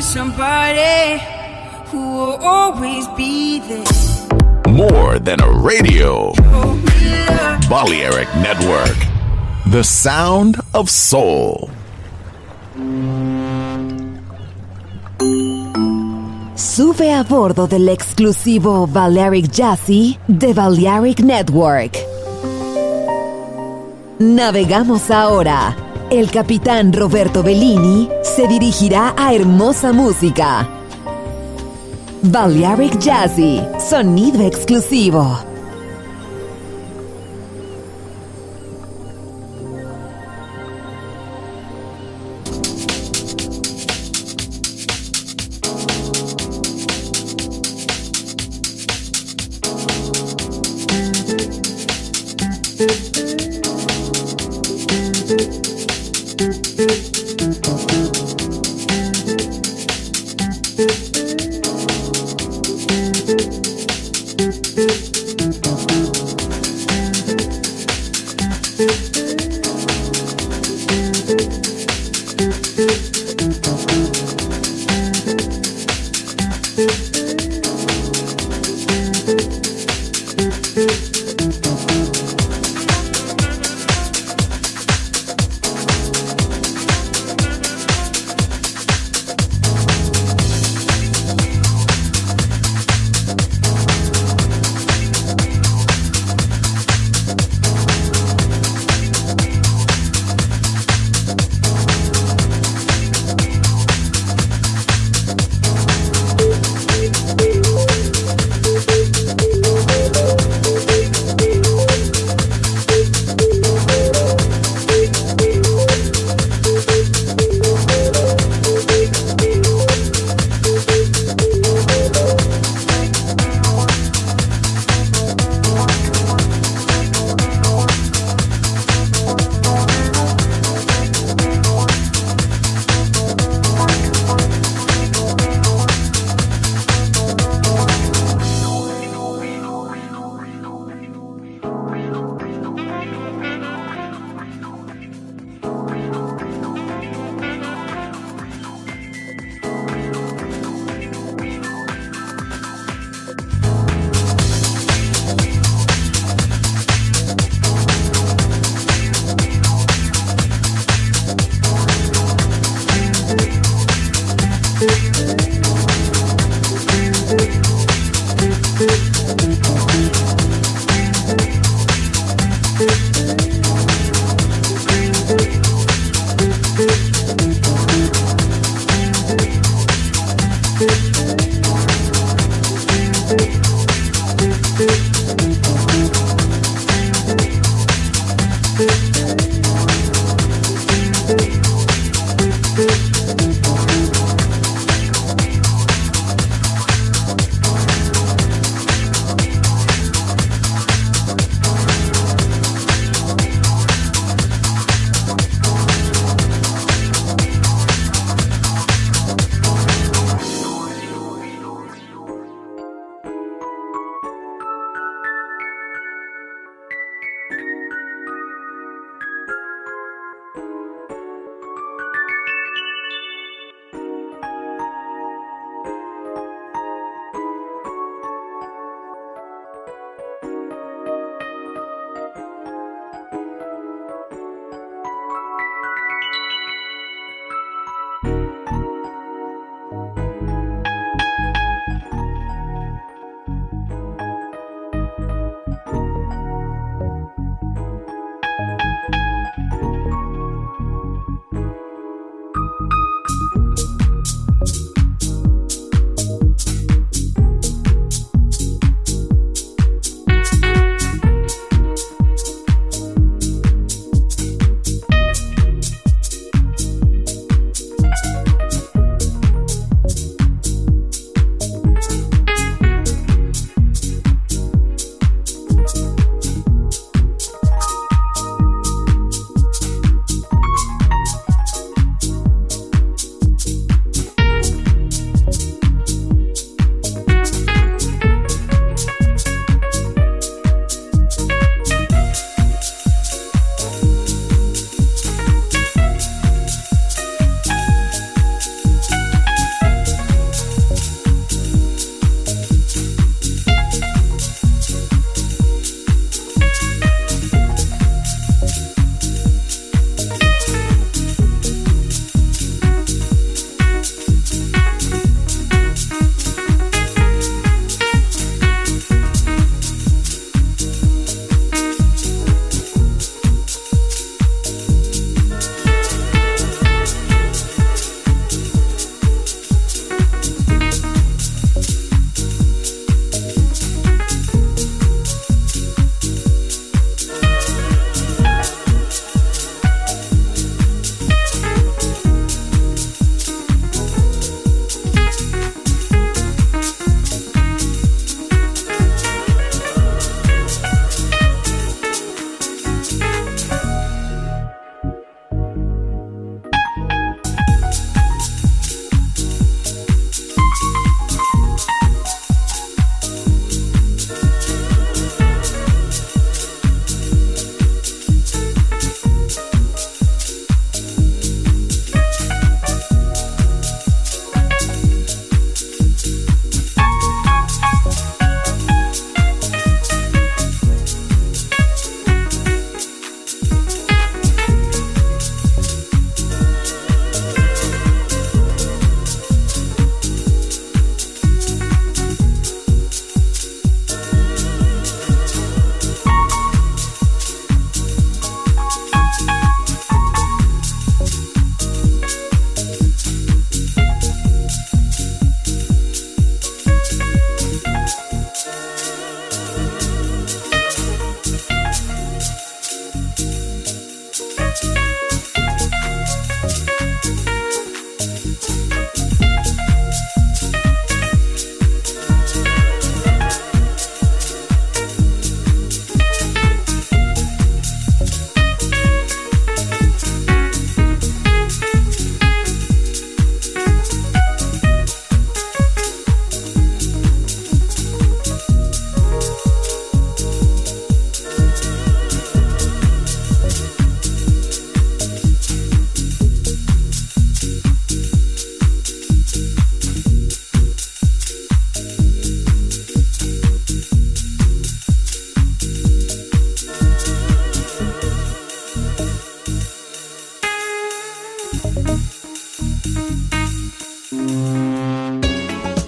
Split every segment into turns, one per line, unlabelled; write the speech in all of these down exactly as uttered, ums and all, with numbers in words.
somebody who will always be there.
More than a radio. Balearic Network. The sound of soul.
Sube a bordo del exclusivo Balearic Jazzy de Balearic Network. Navegamos ahora. El capitán Roberto Bellini se dirigirá a hermosa música. Balearic Jazzy, sonido exclusivo.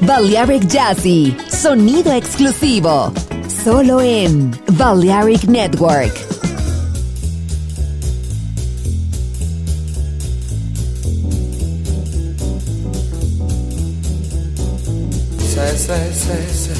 Balearic Jazzy, sonido exclusivo, solo en Balearic Network.
Say, say, say, say.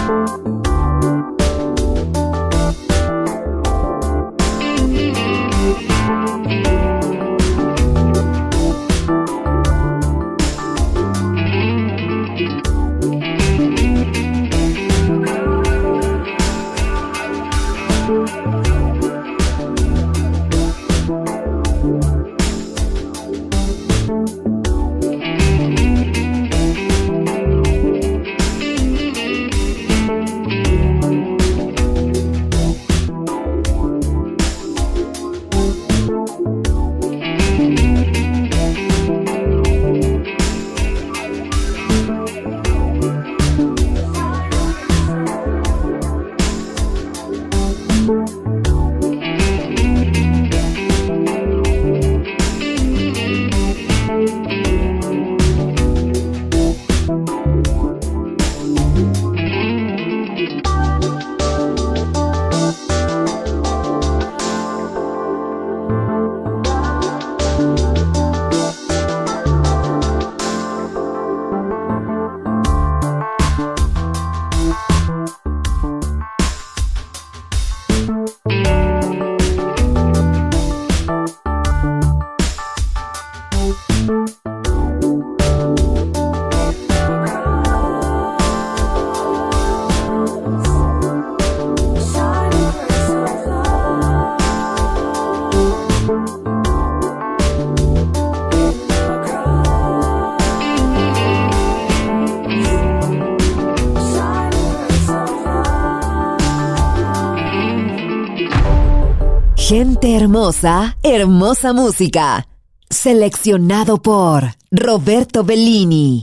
Gente hermosa, hermosa música. Seleccionado por Roberto Bellini.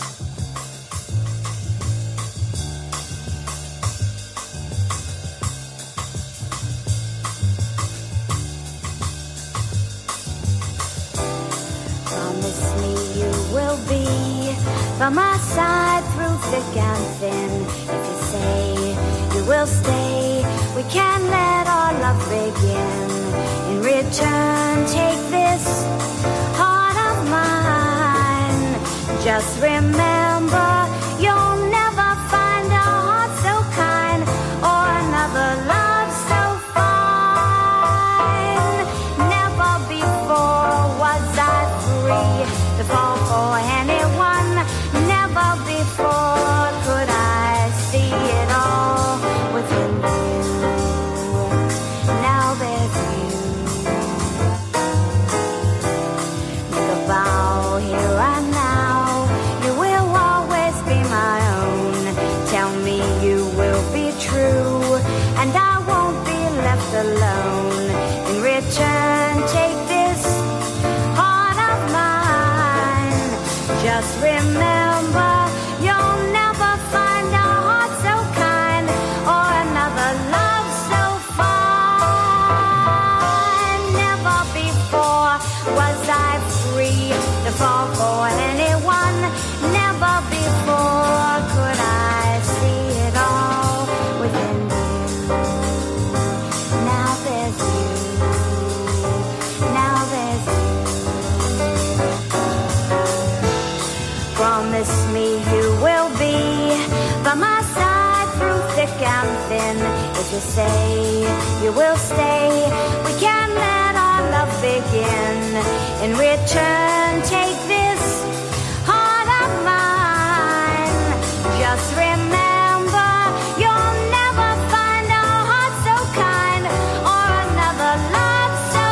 Promise me you will be by my side through thick and thin. If you say you will stay, we can let our love begin. In return, take this heart of mine. Just remember, you'll never find a heart so kind or another love so fine. Never before was I free to fall for anyone. Never before could I see it all within you. Now there's you. Make a vow here and now. You will always be my own. Tell me you will be true, and I won't be left alone. In return, take this heart of mine. Just remember, you'll never find a heart so kind or another love so fine. Never before was I free to fall for anyone. Never before could I see it all within you. Now there's you. Now there's you. Promise me you will be by my side through thick and thin. If you say you will stay, we can let our love begin. In return, take this heart of mine. Just remember, you'll never find a heart so kind or another love so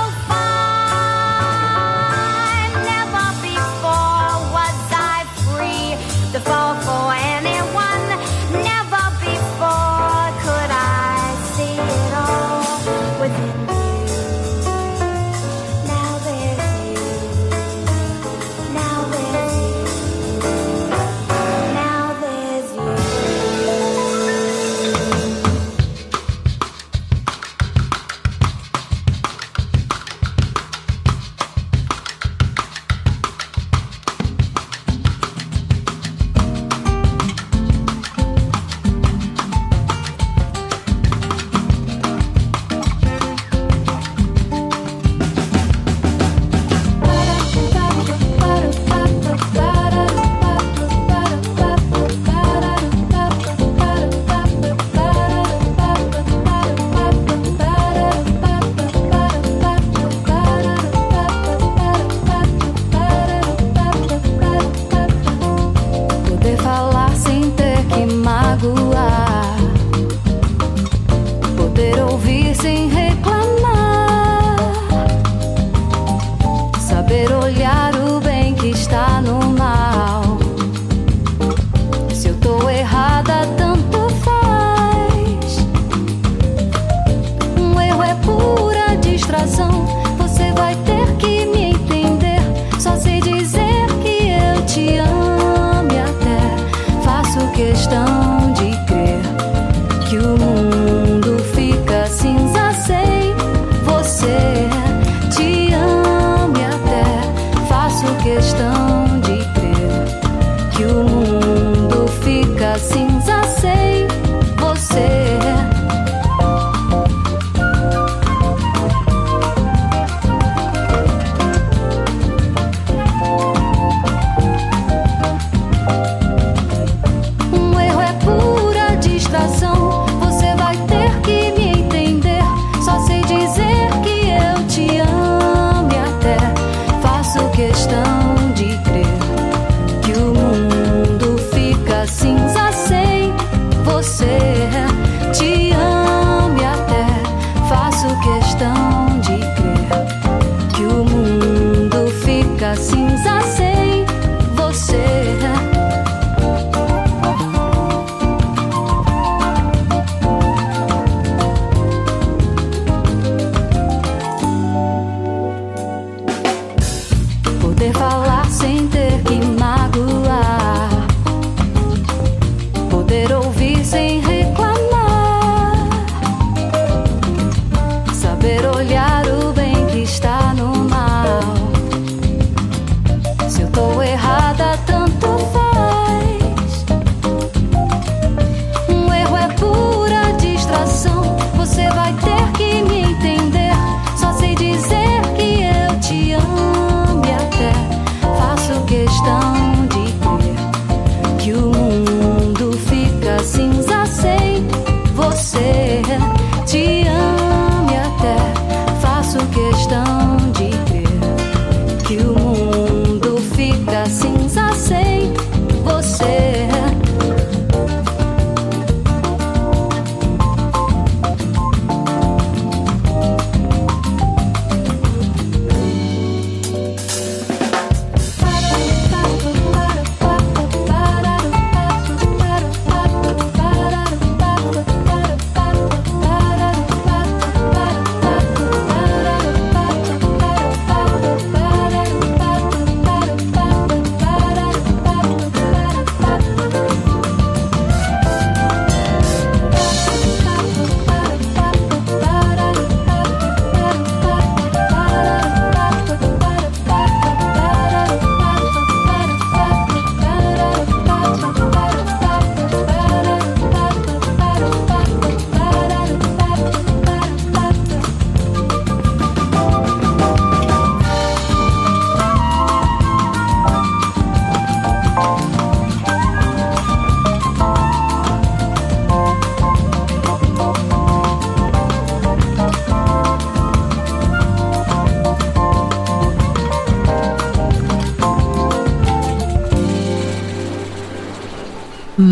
fine. Never before was I free to fall for anyone. Never before could I see it all within you. Now there's you. Now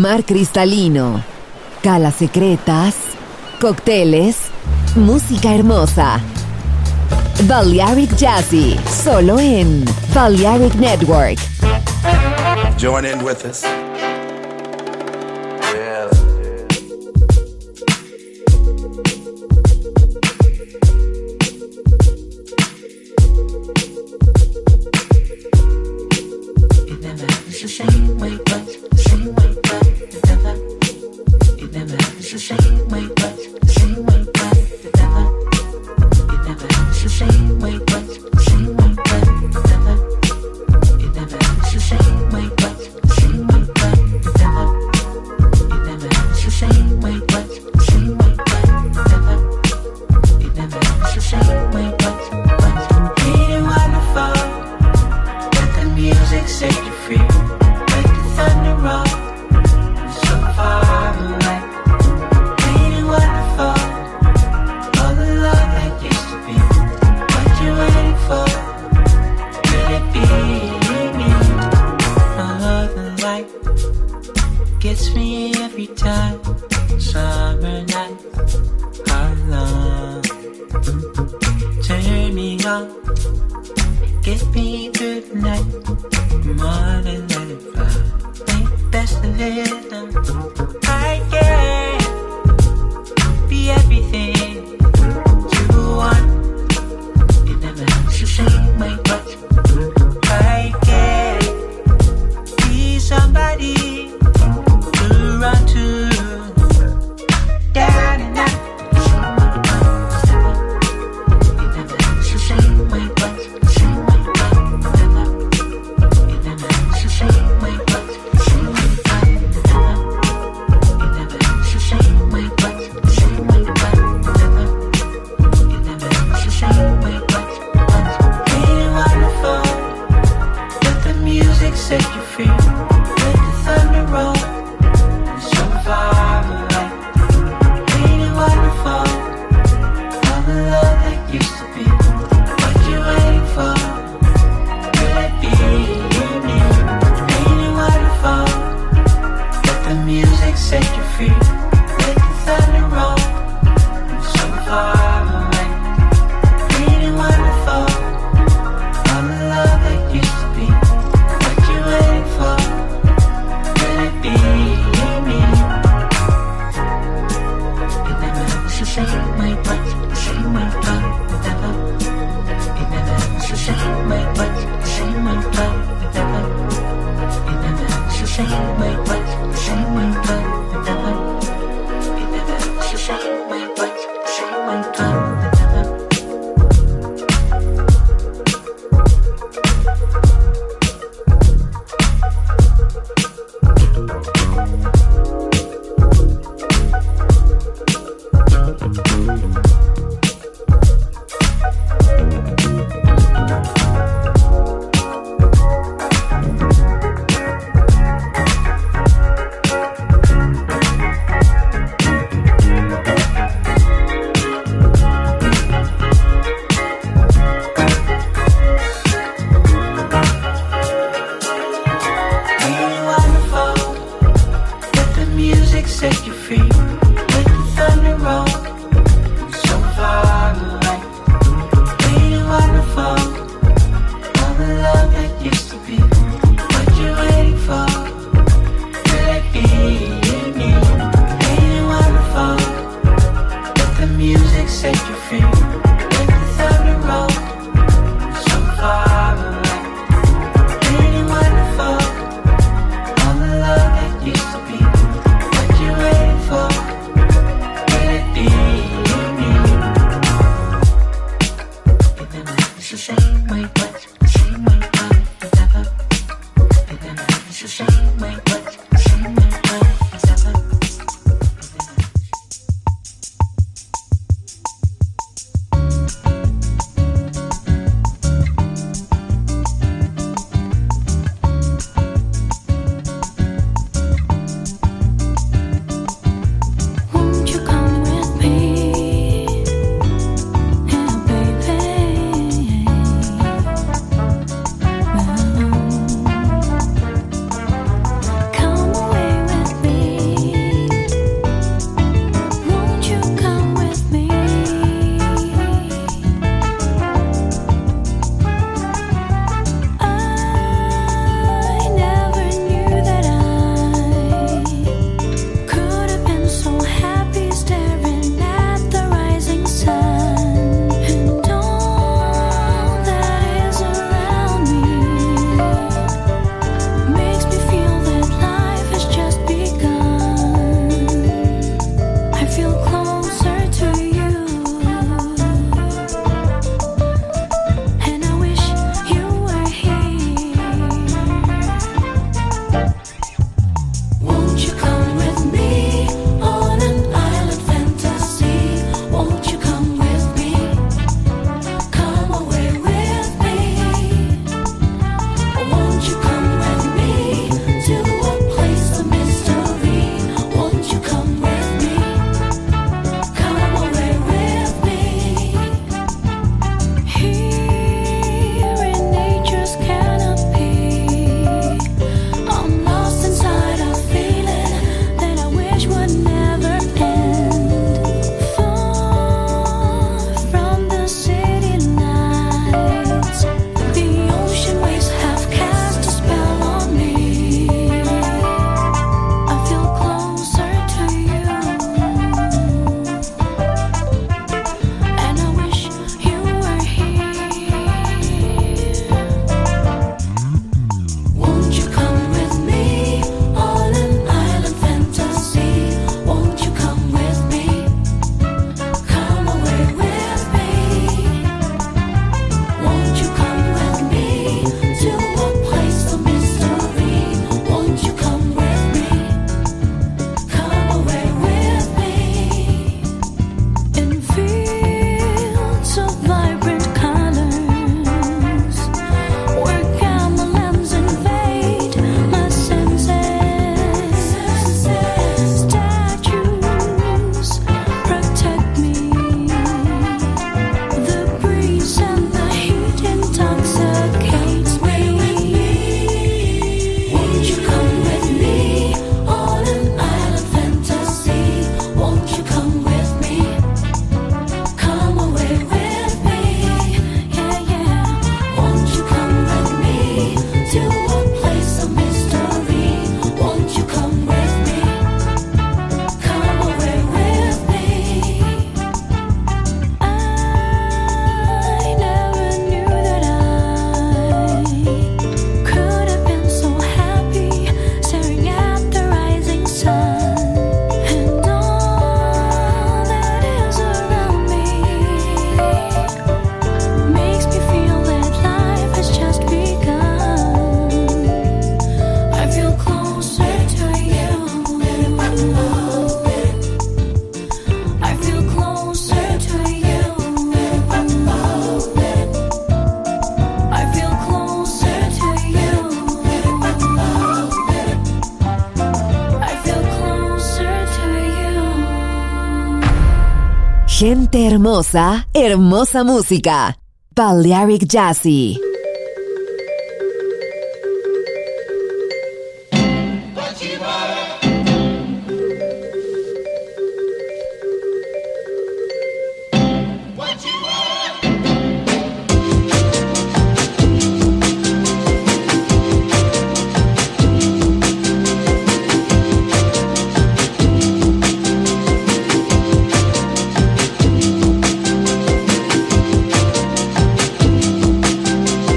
mar cristalino, calas secretas, cócteles, música hermosa. Balearic Jazzy, solo en Balearic Network.
Join in with us. Yeah.
It never happens the same way, but the same way, but it never. It never happens the same way, but the same way, but it never. It never happens the same way, but the same way, but it never. It never happens the same way, but the same way, but it never. It never happens the same way, but the same way, but it never. It never happens the same way, but but ain't it wonderful that the music set you free, like the thunder roll so far away. Ain't it wonderful all the love that used to be? What you waiting for? Will it be me? Oh, the light gets me every time. Summer nights are long. Turn me on, get me through the night. More than let it fly. Make the best of it now. I can be everything you want. It never happens the same way, but I can be somebody to run to. Down and out. It never happens the same way, but the same way, but it never. It never happens the same way, but the same way, but it never. It never happens the same way, but the same way, but it never. It never happens the same way, but but ain't it wonderful that the music set you free? Let the thunder roll so far away. Ain't it wonderful all the love that used to be? What you waiting for? Will it be me? Ain't it wonderful that the music set you free? Let the thunder roll so far away. Ain't it wonderful all the love that used to be? What you waiting for? Will it be me? It never happens the same way, but the same way, but it never. It never happens the same way, but the same way, but it never. It never happens the same way, but the same way, but it never. It never happens the same way, but the same way, but it never. Ain't it wonderful that the music set you free? Let the thunder roll so far away. Ain't it wonderful all the love that used to be? What you waiting for? Will it be me? Ain't it wonderful that the music set you free? Let the thunder roll so far away. Ain't it wonderful all the love that used to be? What you waiting for?
Gente hermosa, hermosa música. Balearic Jazzy.
What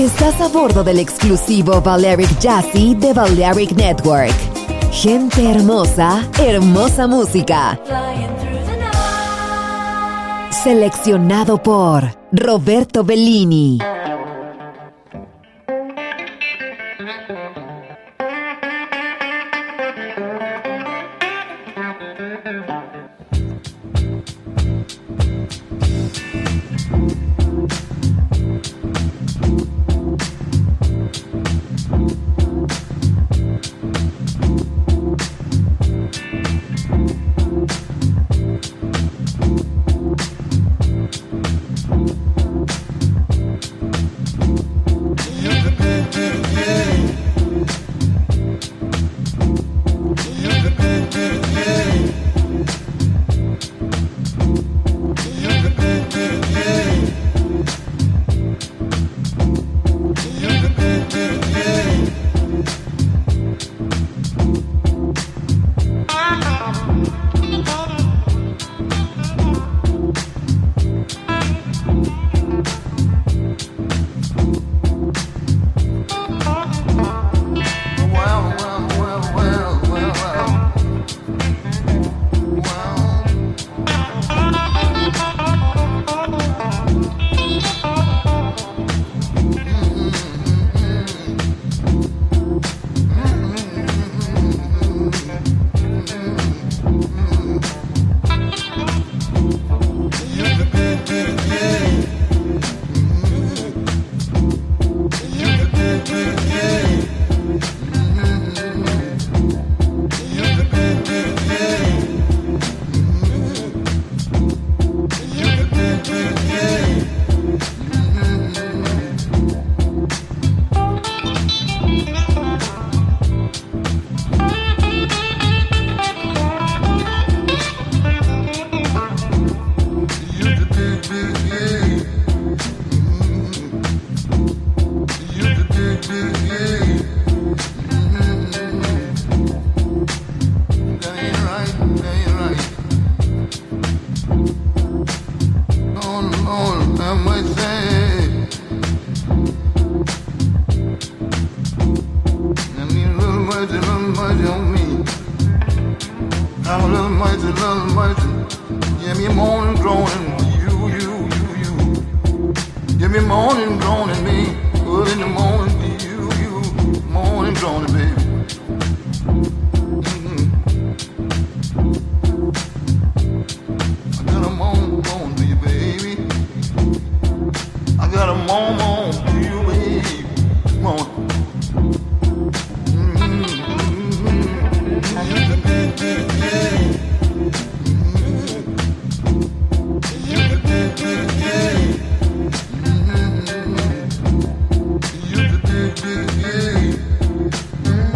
Estás a bordo del exclusivo Balearic Jazzy de Balearic Network. Gente hermosa, hermosa música. Seleccionado por Roberto Bellini.
Mm-hmm.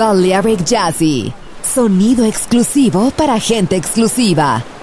Balearic Jazzy. Sonido exclusivo para gente exclusiva.